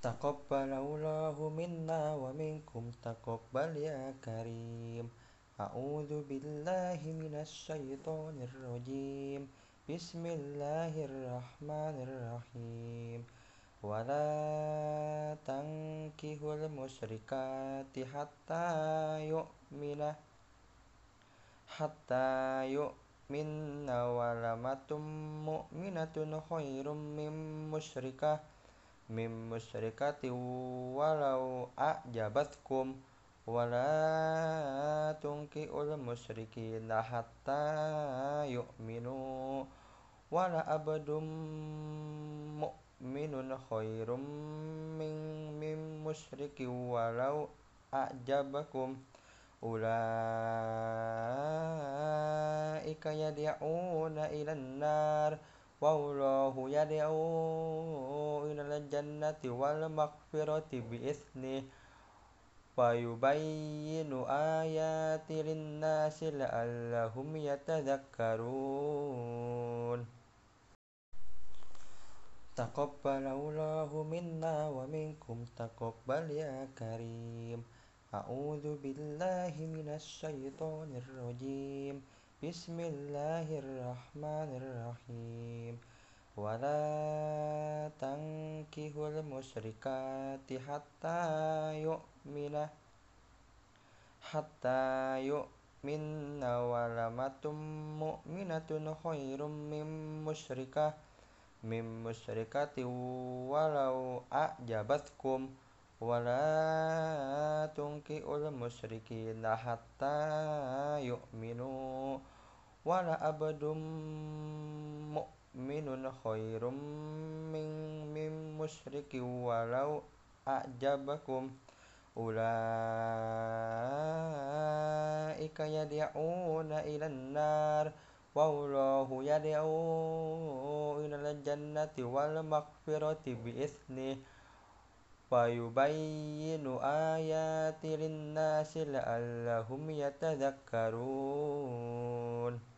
Taqabbalallahu minna wa minkum taqabbal ya karim. A'udzu billahi minasy syaithanir rajim. Bismillahirrahmanirrahim. Wala tankihul musyrikati hatta yu'minna walamatum mu'minatun khairum min musyrikati walau a'jabatkum wala tungkiul musyrikina hatta yu'minu wala abdum mu'minun khairum min musyriki walau a'jabakum ulaika yad'una ilan nar wallahu yad'u ilal jannati wal maghfirati bi'itsnih wa yubayyinu ayati linnasi la'allahum yatadhakkarun. Taqabbalallahu minna wa minkum taqabbal ya karim. A'udzu billahi minasy syaithanir rajim. Bismillahirrahmanirrahim. Wala tankihul musyrikati hatta yu'minna walamatum mu'minatun khairum min musyrikati walau a'jabatkum wala tungkiul musyrikina hatta yu'minu wala abdum mu'minun khairum min musyriki walau a'jabakum ulaika yad'una ilan nar wallahu yad'u ilal jannati wal maghfirati bi'itsnih wa yubayyinu ayati linnasi la'allahum yatadhakkarun.